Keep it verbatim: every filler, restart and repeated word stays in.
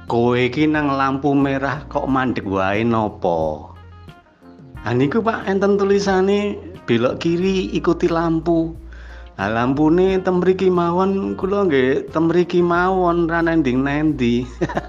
Kowe iki nang lampu merah kok mandek wae nopo? Ha niku Pak enten tulisane belok kiri ikuti lampu. Lah lampune ten mriki mawon kula nggih ten mriki mawon ra nending-nendi.